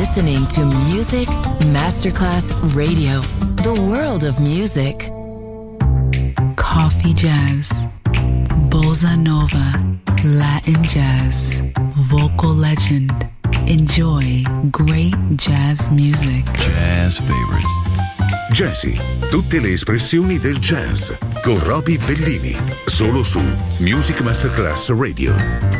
listening to Music Masterclass Radio, the world of music. Coffee jazz, bossa nova, Latin jazz, vocal legend. Enjoy great jazz music. Jazz favorites. Jazzy, tutte le espressioni del jazz con Roby Bellini, solo su Music Masterclass Radio.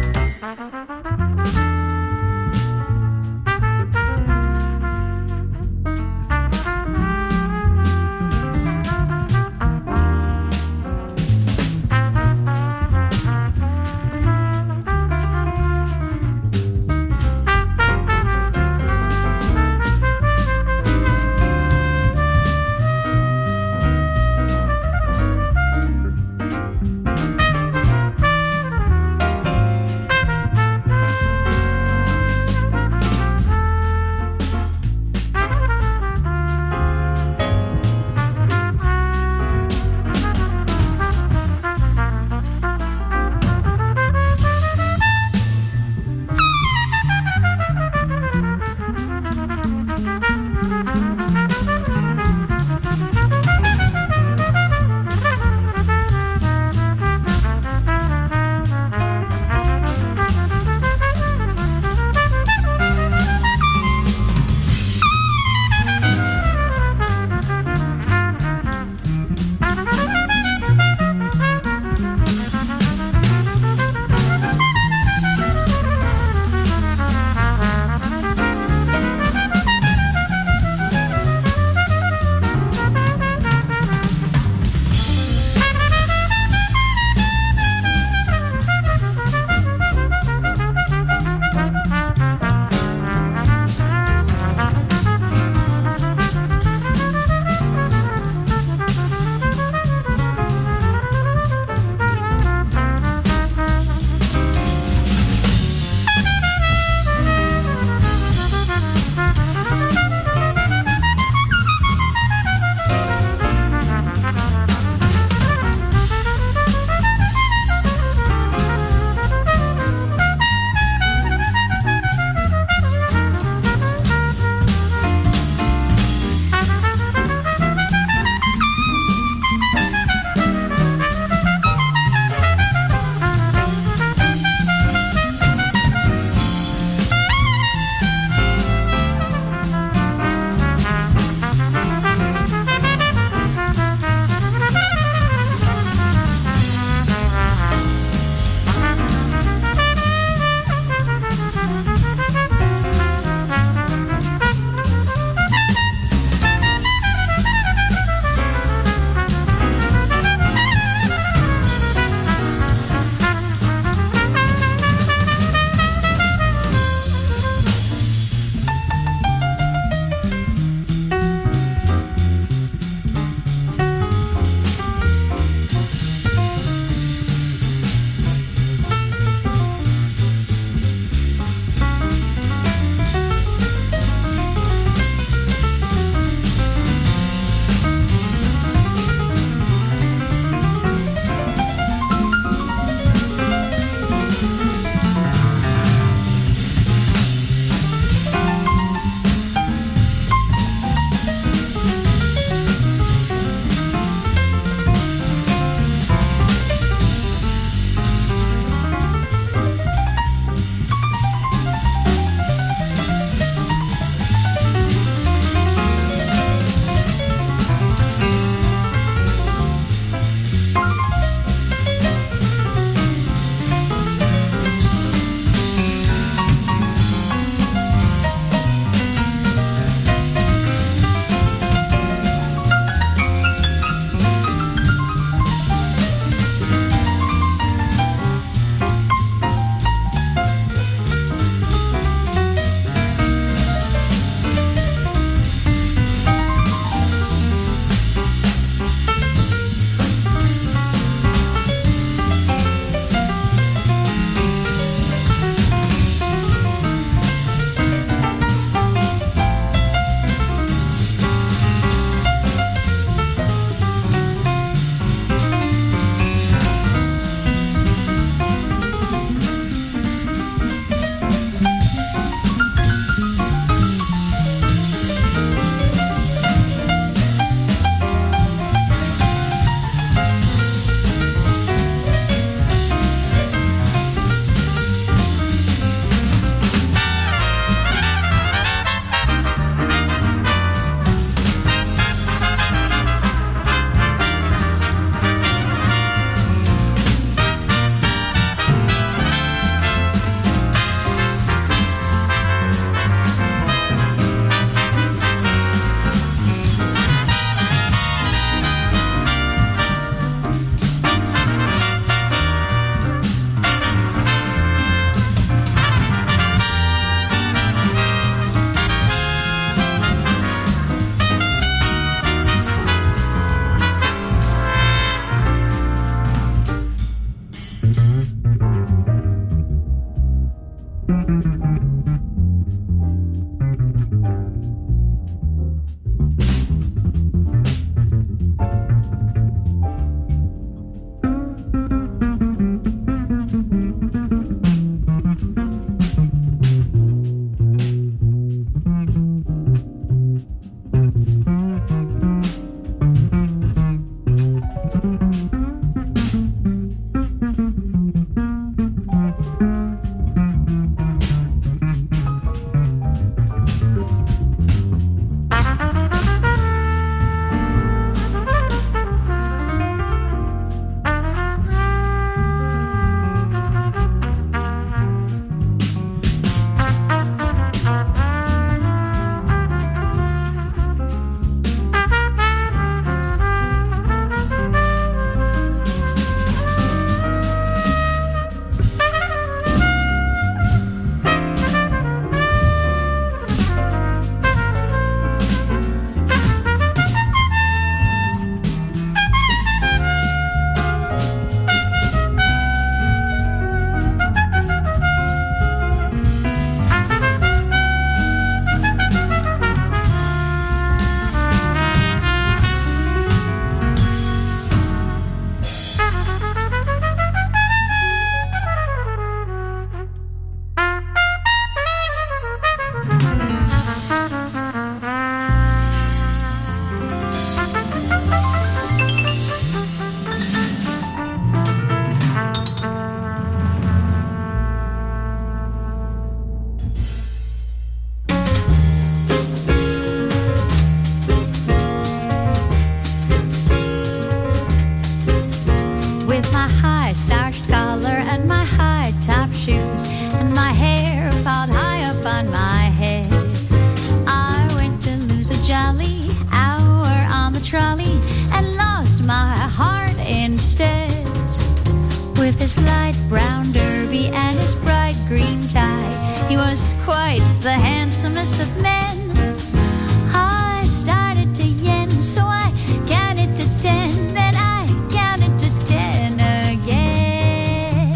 on my head. I went to lose a jolly hour on the trolley and lost my heart instead. With his light brown derby and his bright green tie, he was quite the handsomest of men. I started to yen, so I counted to 10, then I counted to 10 again.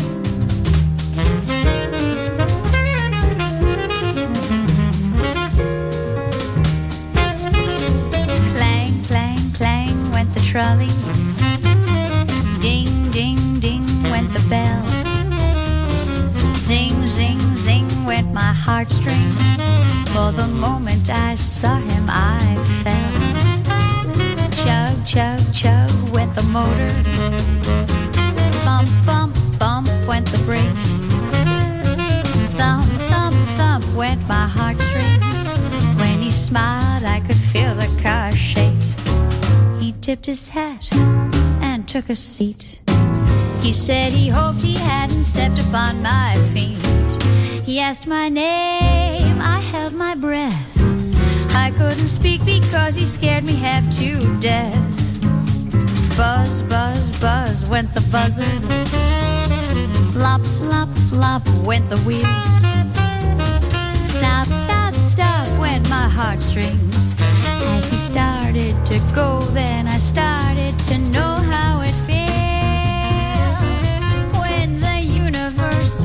Clang, clang, clang went the trolley. Ding, ding, ding went the bell. Zing, zing, zing went my heartstrings. For the moment I saw him, I fell. Chug, chug, chug went the motor. Bump, bump, bump went the brake. Thump, thump, thump went my heartstrings. When he smiled, I could feel the car shake. He tipped his hat and took a seat. He said he hoped he hadn't stepped upon my feet. He asked my name, I held my breath. I couldn't speak because he scared me half to death. Buzz, buzz, buzz went the buzzer. Flop, flop, flop went the wheels. Stop, stop, stop went my heartstrings. As he started to go, then I started to know how it feels when the universe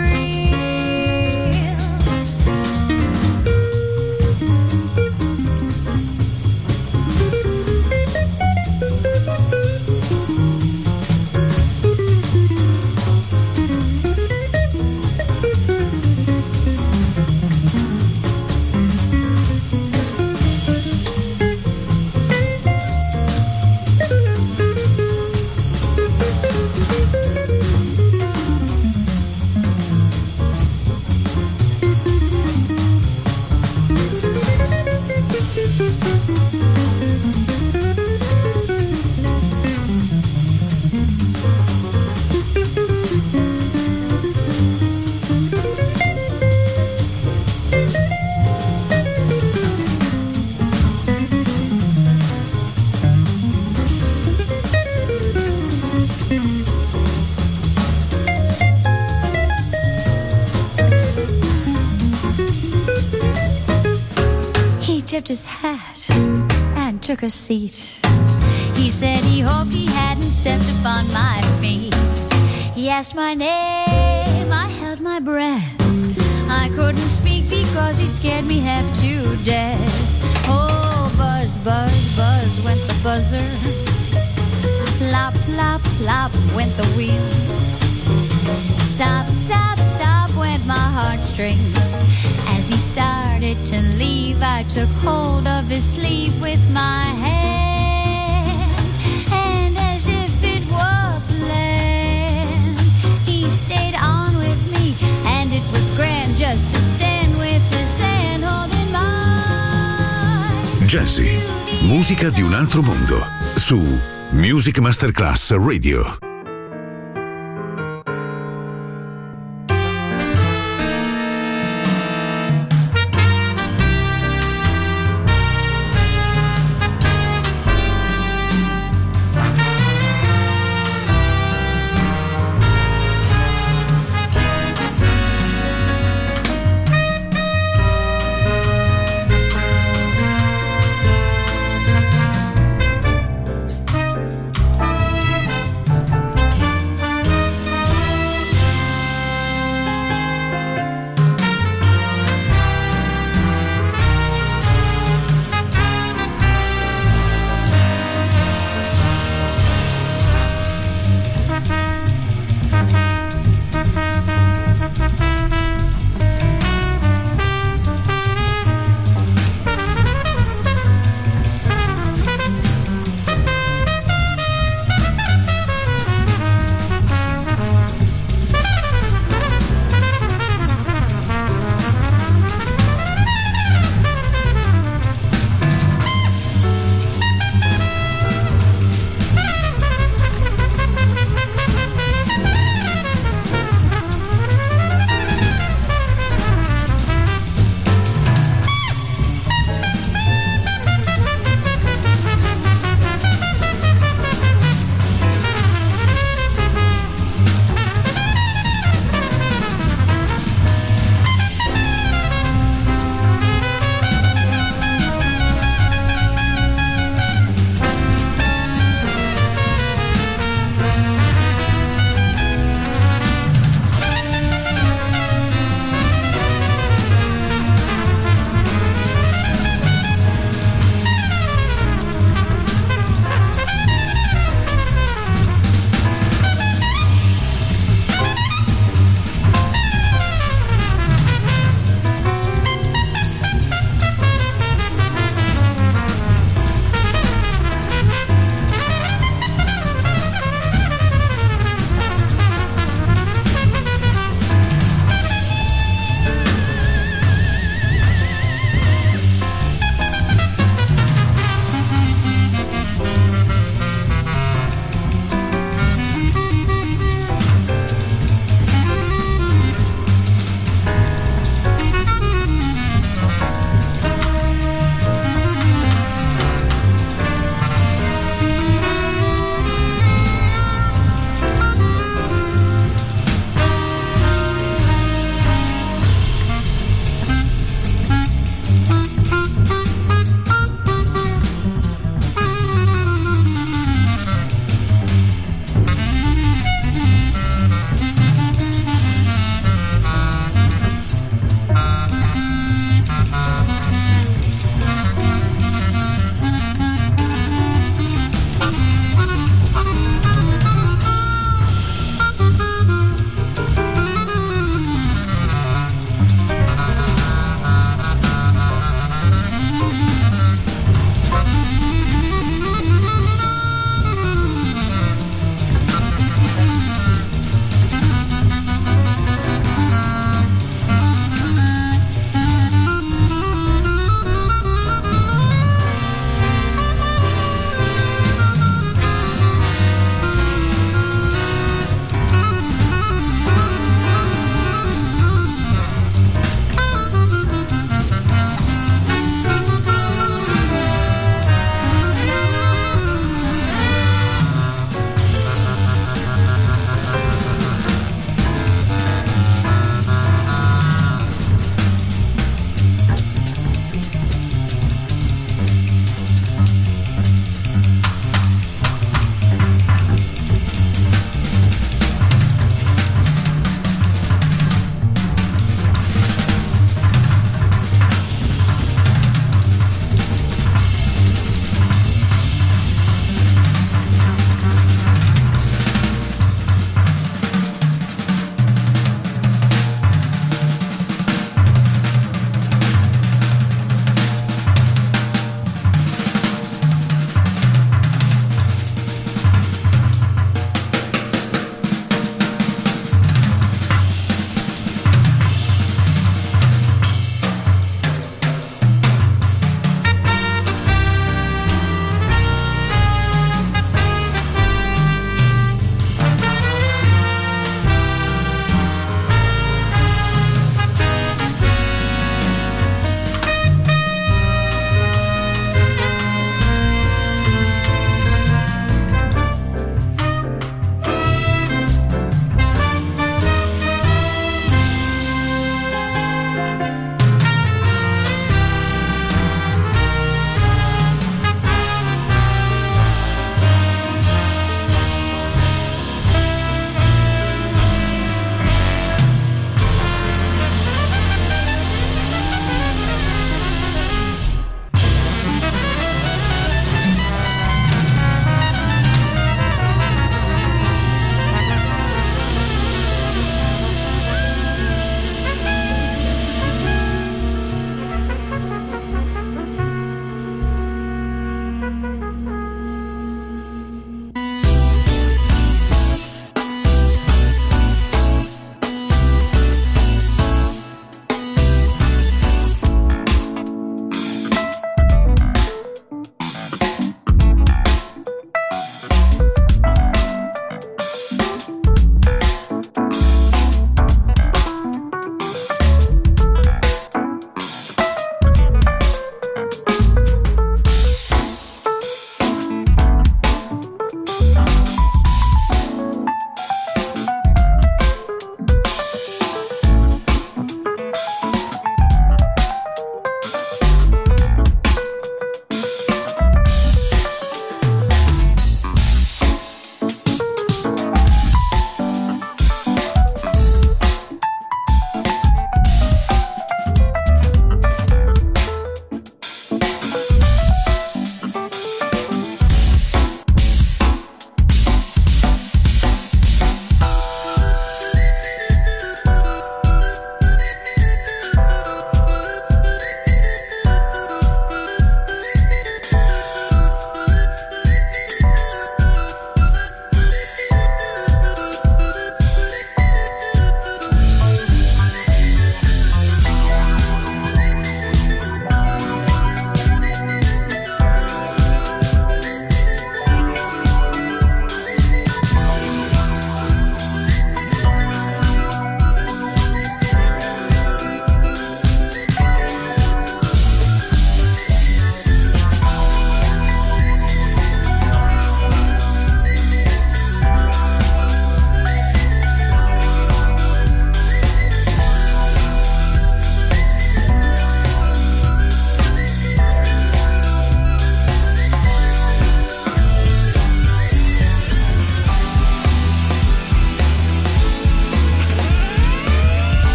tipped his hat and took a seat. He said he hoped he hadn't stepped upon my feet. He asked my name, I held my breath. I couldn't speak because he scared me half to death. Oh, buzz, buzz, buzz went the buzzer. Plop, plop, plop went the wheels. Stop, stop, stop went my heartstrings. As he started to leave, I took hold of his sleeve with my hand, and as if it were planned, he stayed on with me, and it was grand just to stand with his hand holding mine. Jazzy, musica di un altro mondo, su Music Masterclass Radio.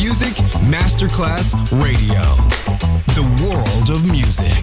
Music Masterclass Radio. The world of music.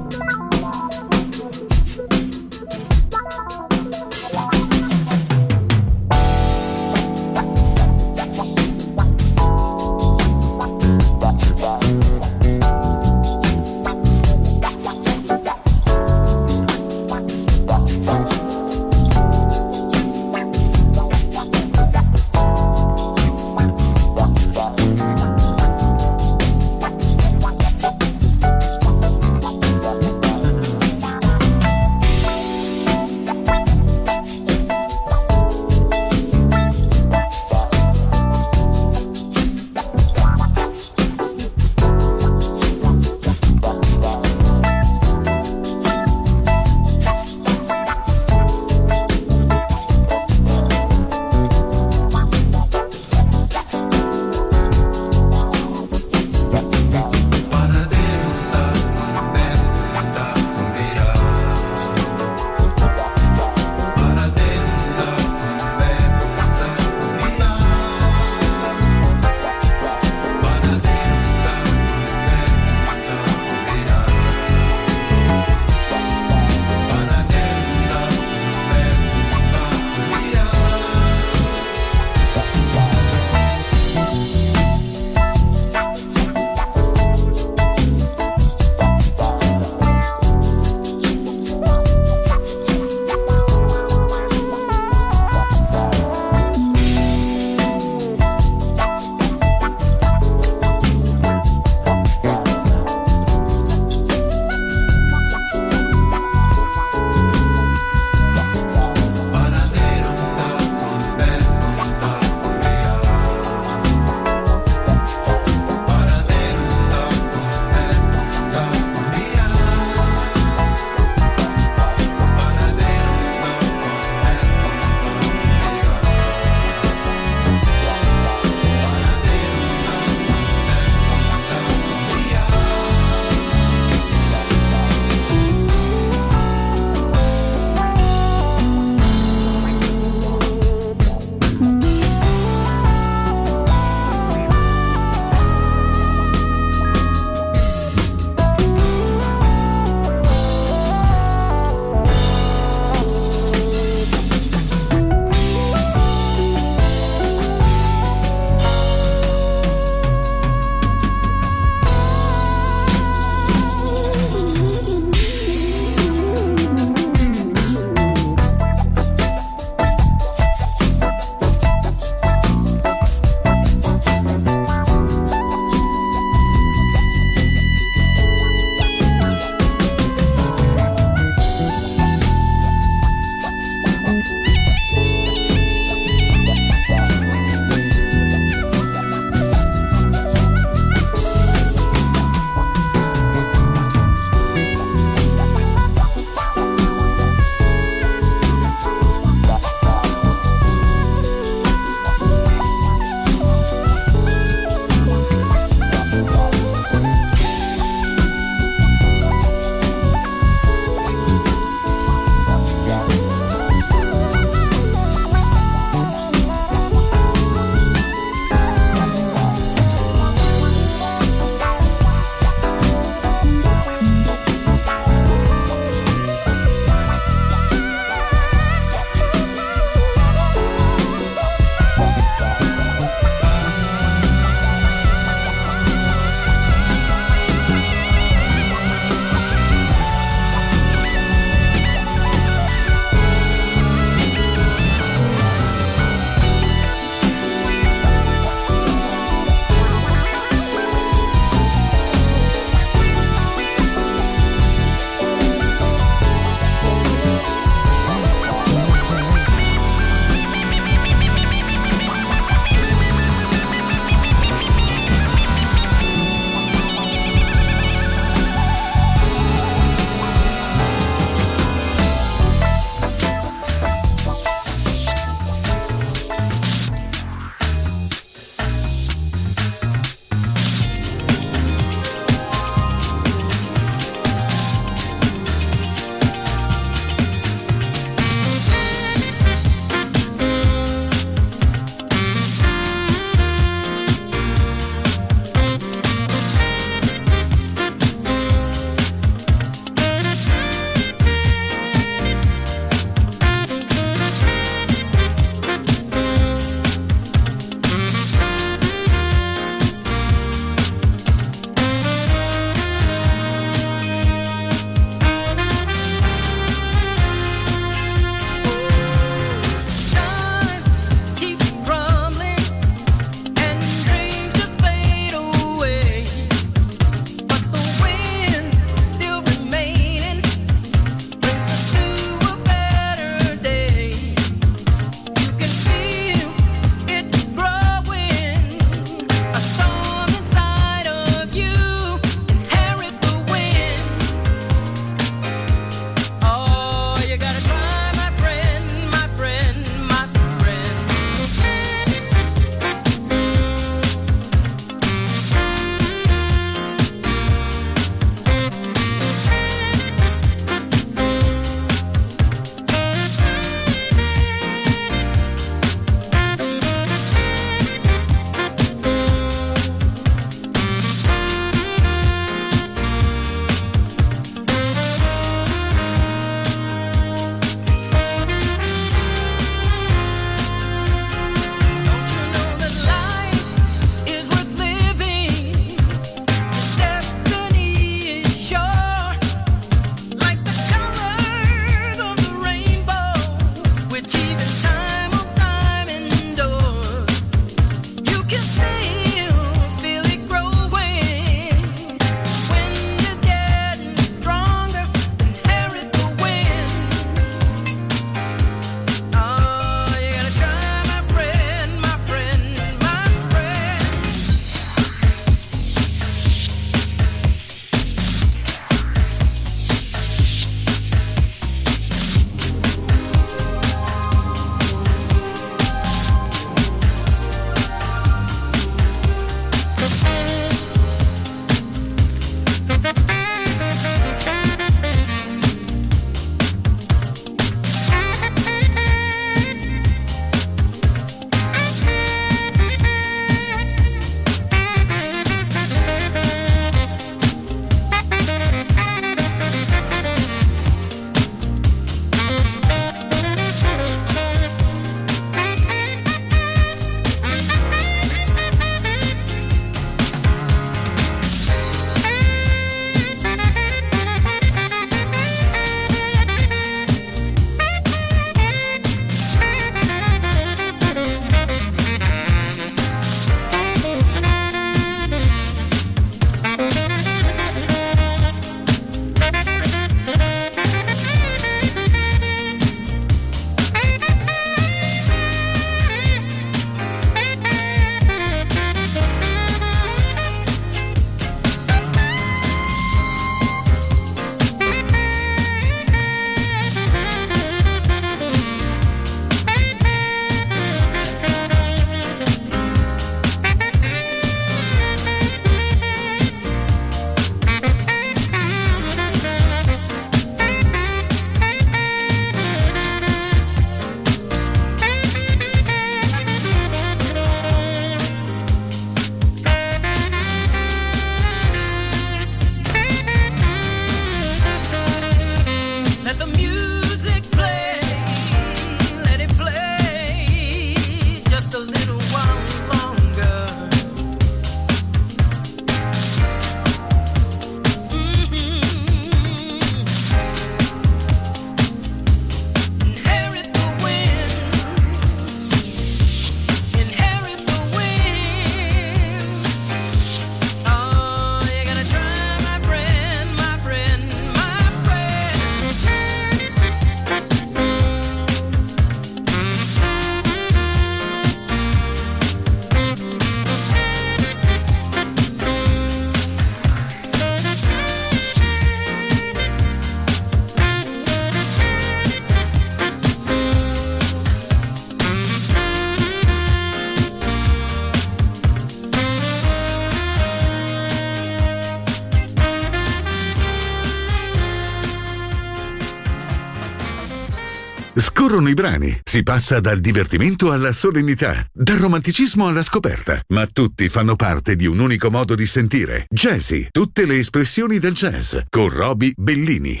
Scorrono i brani, si passa dal divertimento alla solennità, dal romanticismo alla scoperta, ma tutti fanno parte di un unico modo di sentire. Jazzy, tutte le espressioni del jazz, con Roby Bellini.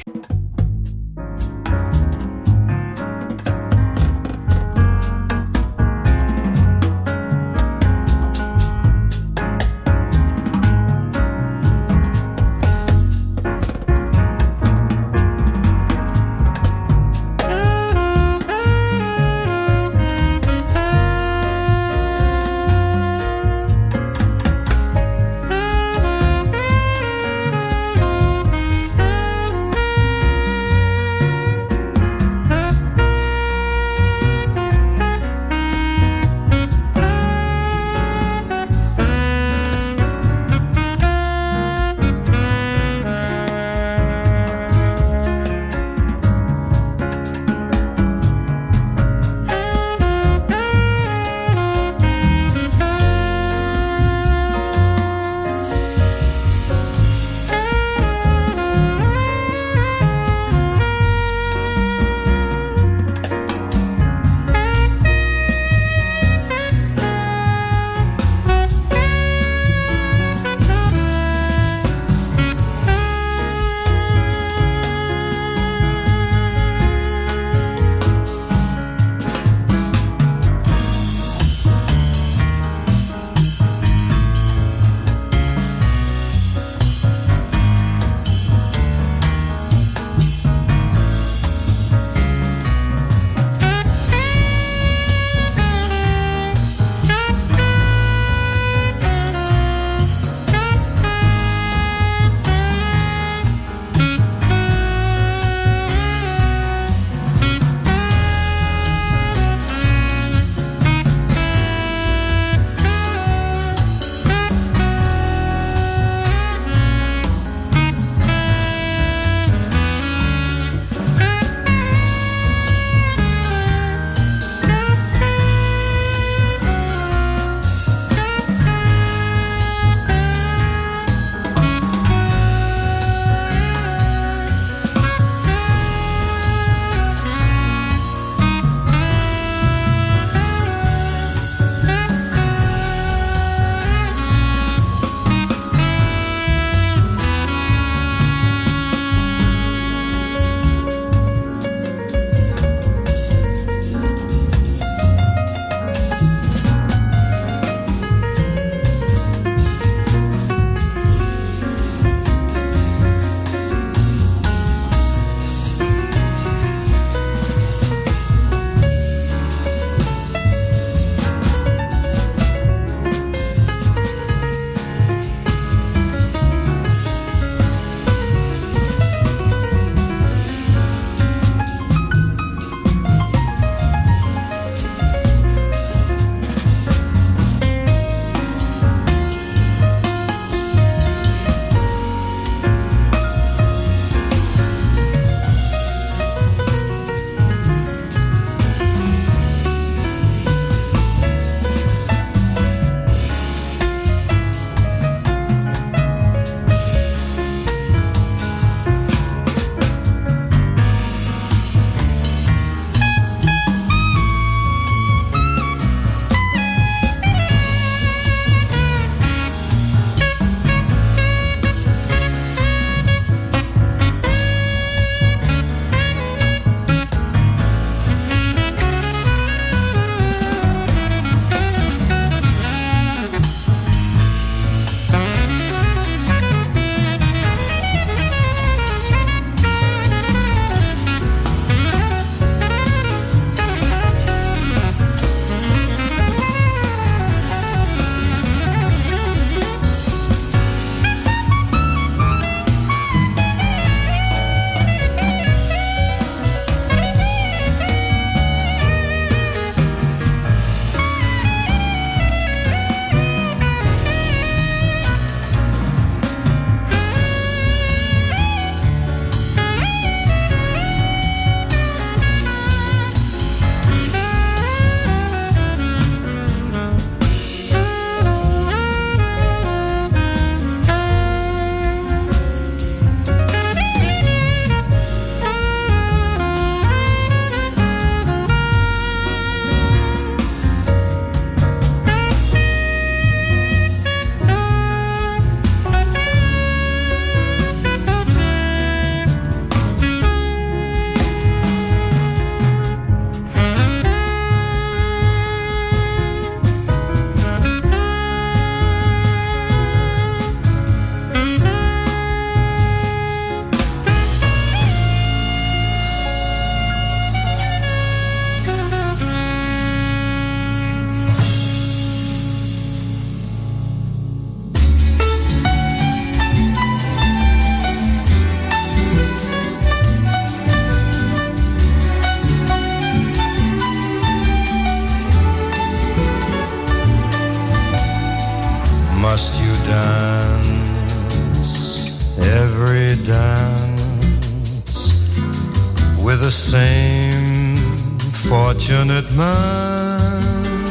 We're the same fortunate man.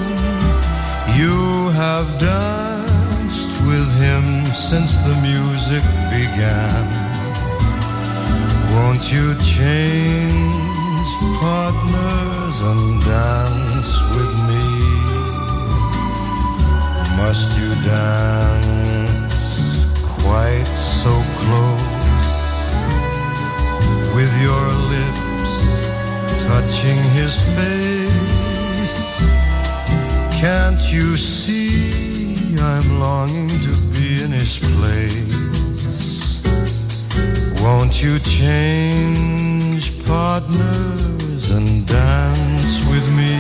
You have danced with him since the music began. Won't you change partners and dance with me? Must you dance quite so close, with your lips touching his face? Can't you see I'm longing to be in his place? Won't you change partners and dance with me?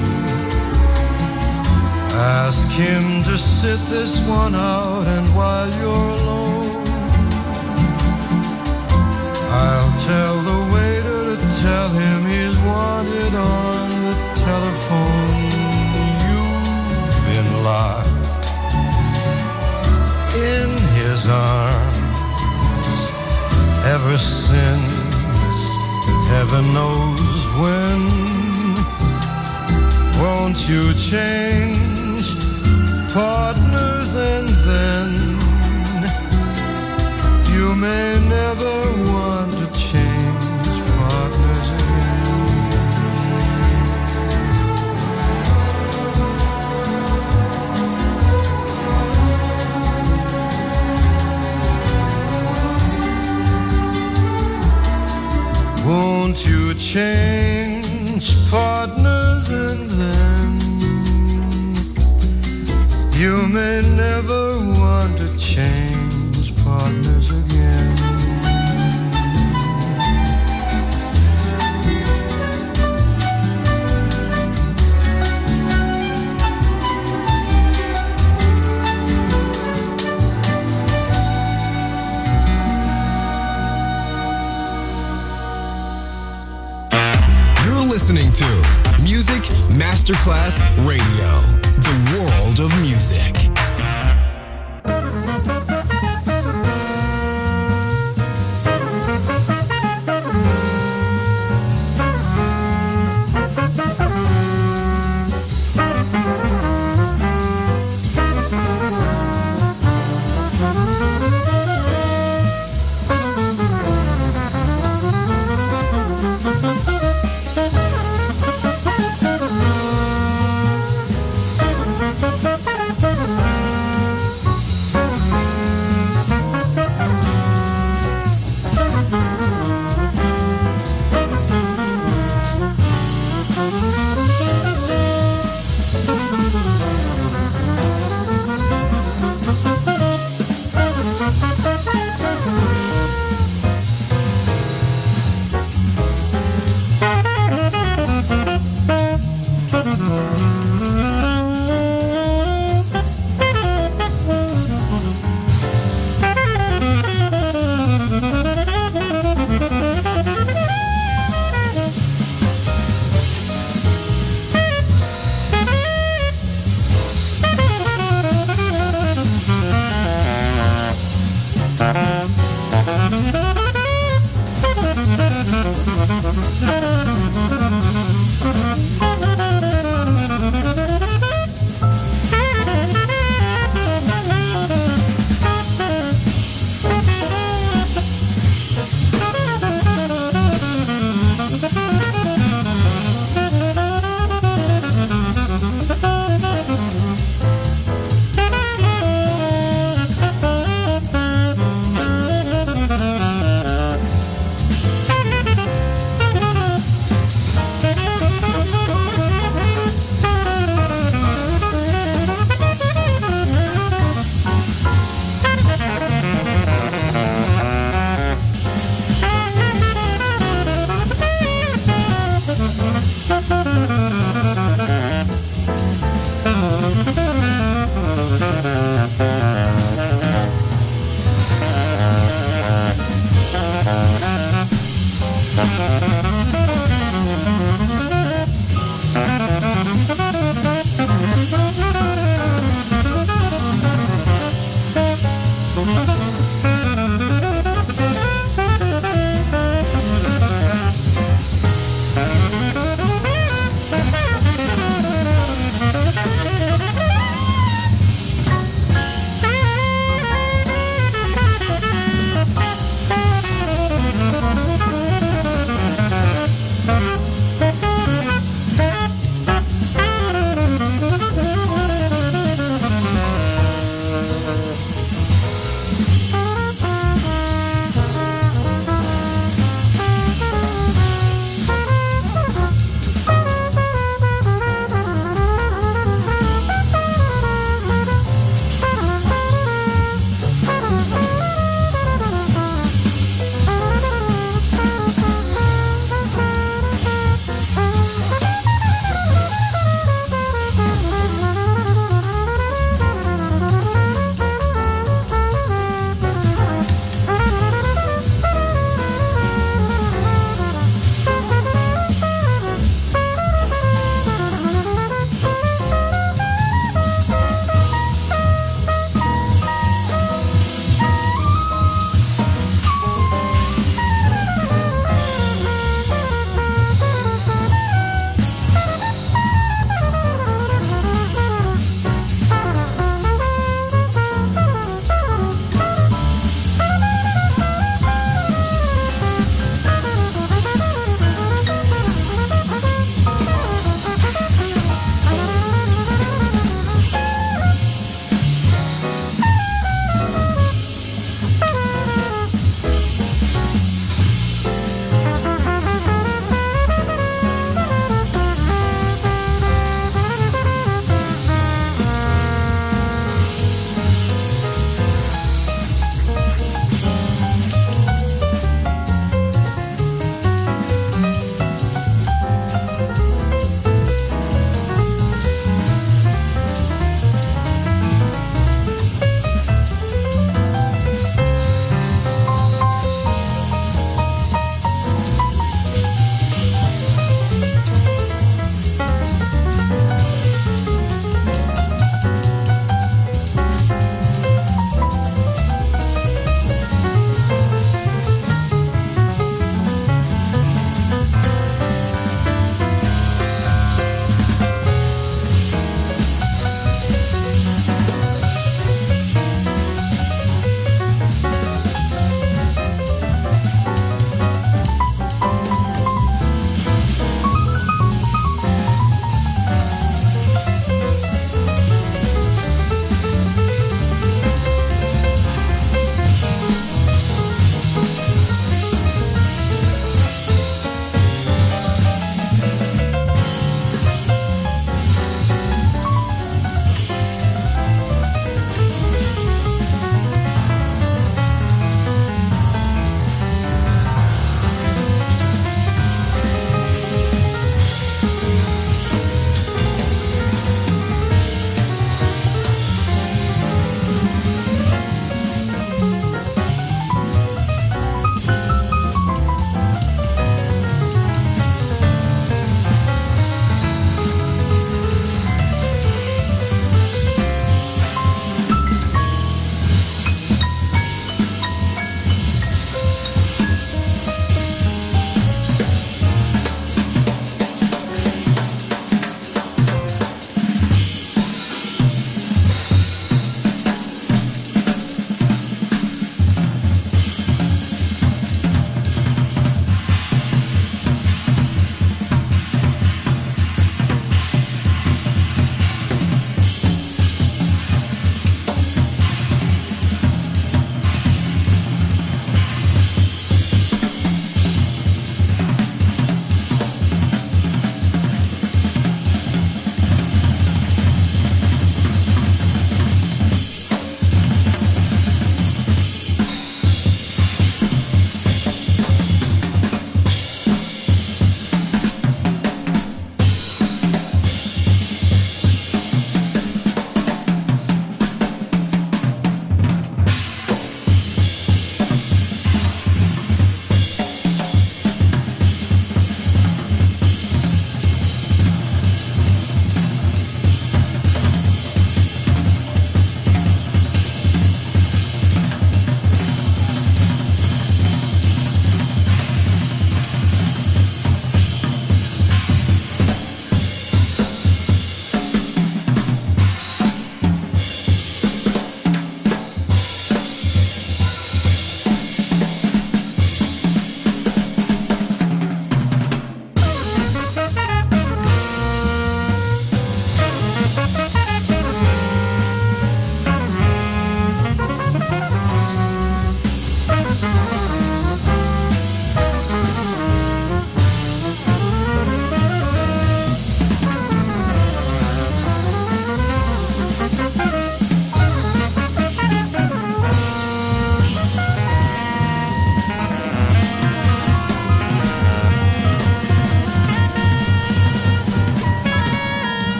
Ask him to sit this one out, and while you're alone, I'll tell the waiter to tell him he's wanted on the telephone. You've been locked in his arms ever since heaven knows when. Won't you change partners, and then you may never want to change partners again. Won't you change partners, and then you may never want to change partners again. You're listening to Music Masterclass Radio, the world of music.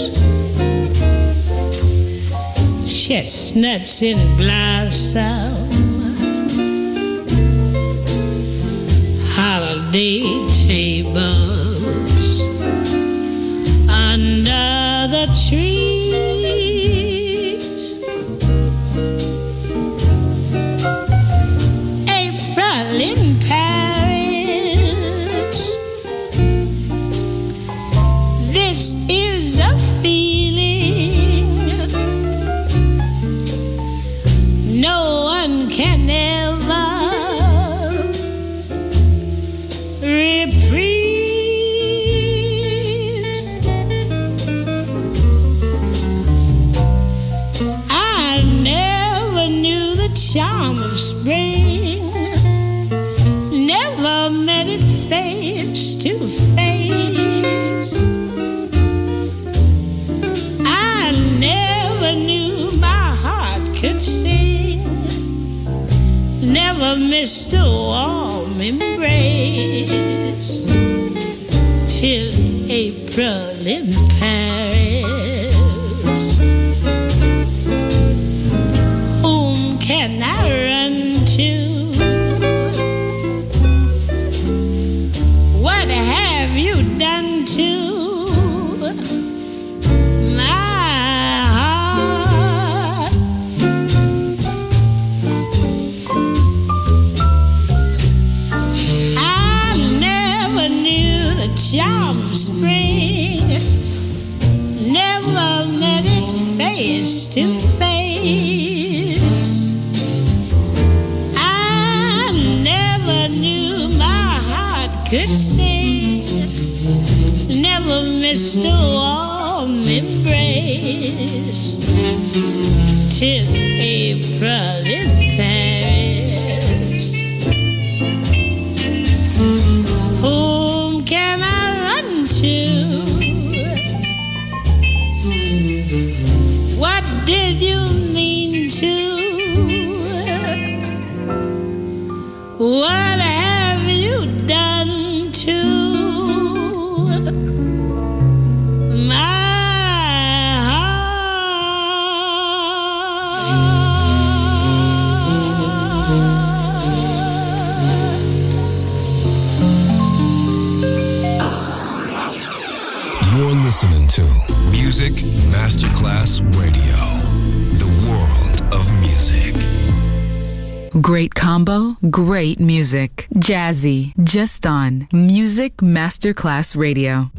chestnuts in blossom, holiday tables under the trees. April in Paris, this is a feeling no one can ever reprise. I never knew the charm of spring, never met it face to face. I never knew my heart could sing, never missed a warm embrace, till April in Paris. Whom can I run to? What have you done to my heart? I never knew the charm of spring, never met it face to face. I never knew my heart could sing, never missed a warm embrace, till April in Paris. Whom can I run to? What did you mean to? What have you done to my You're listening to Music Masterclass Radio, the world of music. Great combo, great music. Jazzy, just on Music Masterclass Radio.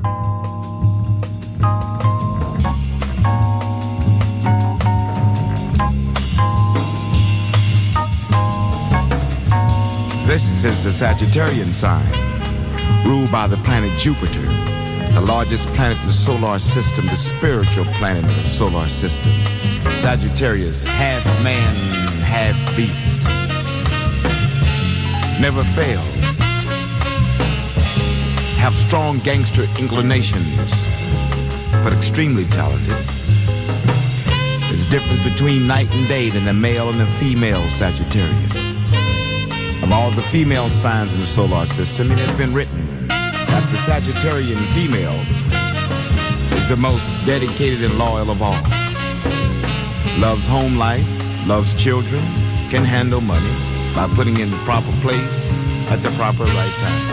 This is the Sagittarian sign, ruled by the planet Jupiter, the largest planet in the solar system, the spiritual planet in the solar system. Sagittarius, half man, half beast. Never fail. Have strong gangster inclinations, but extremely talented. There's a difference between night and day than the male and the female Sagittarian. Of all the female signs in the solar system, it has been written that the Sagittarian female is the most dedicated and loyal of all. Loves home life, loves children, can handle money by putting in the proper place at the proper right time.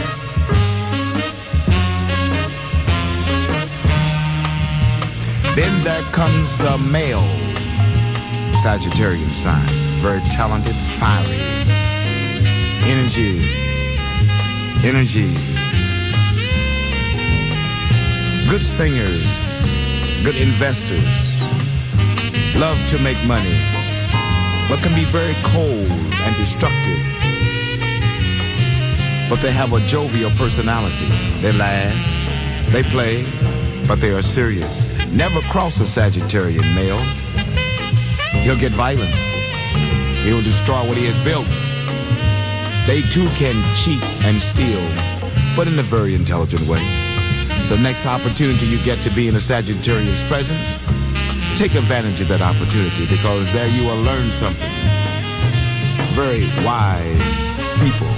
Then there comes the male Sagittarian sign, very talented, fiery. Energy. Good singers, good investors, love to make money, but can be very cold and destructive. But they have a jovial personality. They laugh, they play, but they are serious. Never cross a Sagittarian male. He'll get violent. He'll destroy what he has built. They too can cheat and steal, but in a very intelligent way. So next opportunity you get to be in a Sagittarian's presence, take advantage of that opportunity, because there you will learn something. Very wise people.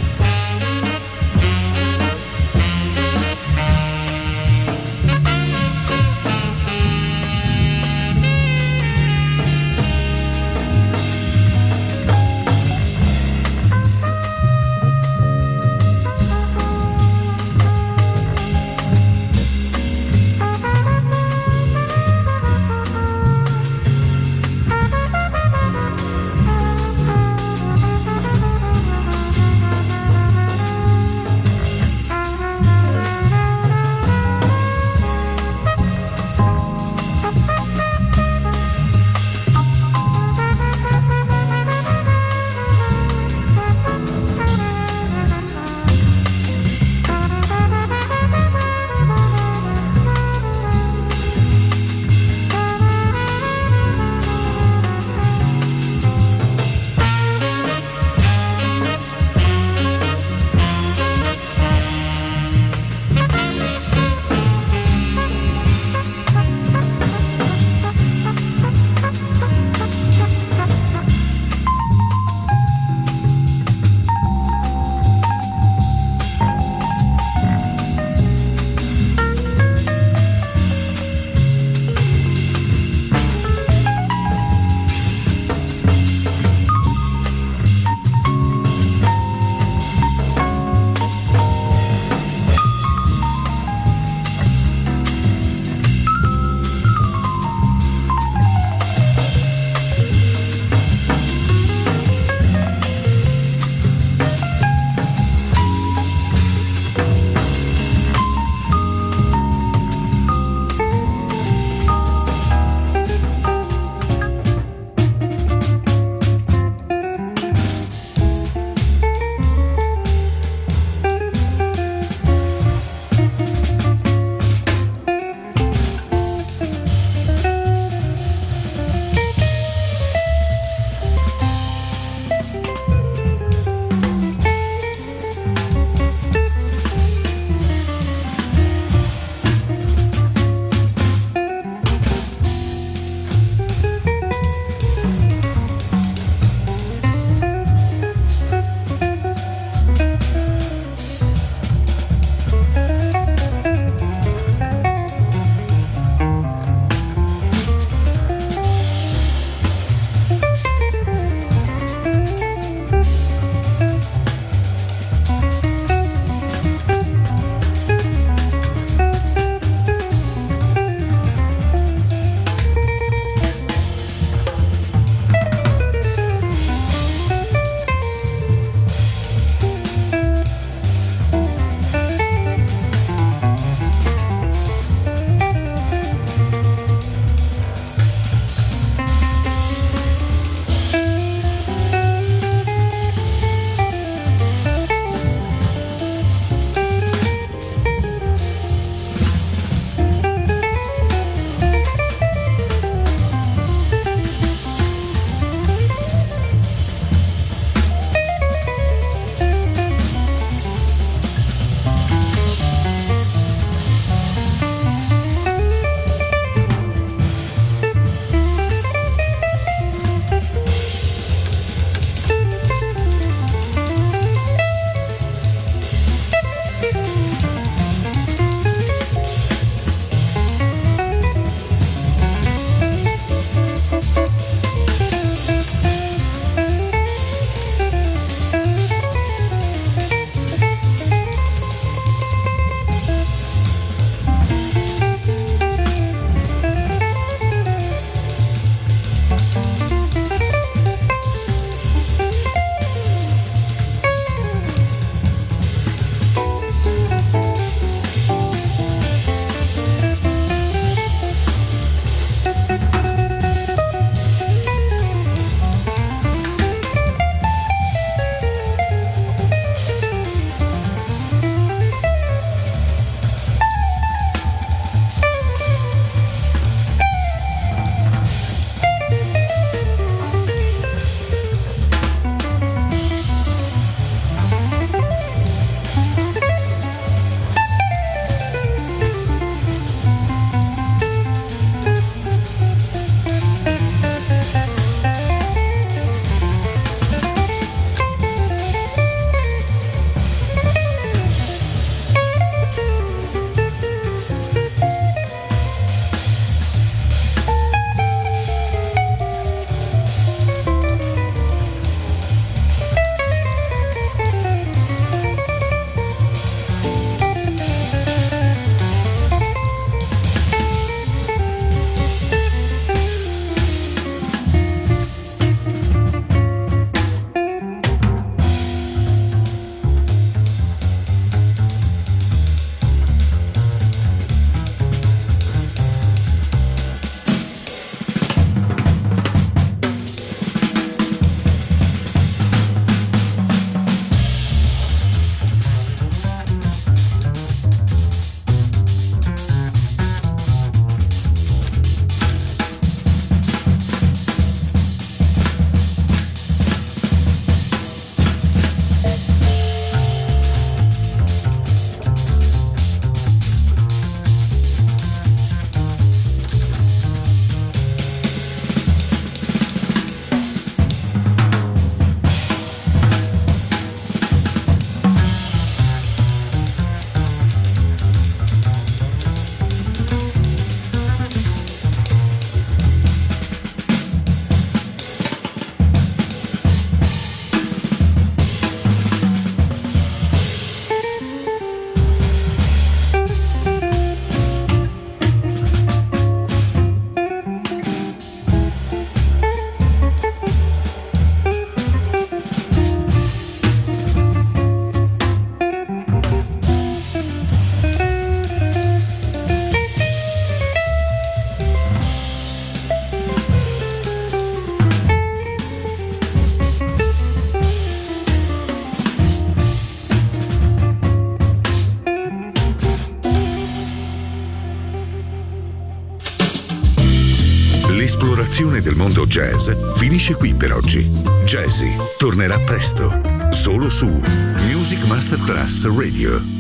L'esplorazione del mondo jazz finisce qui per oggi. Jazzy tornerà presto, solo su Music Masterclass Radio.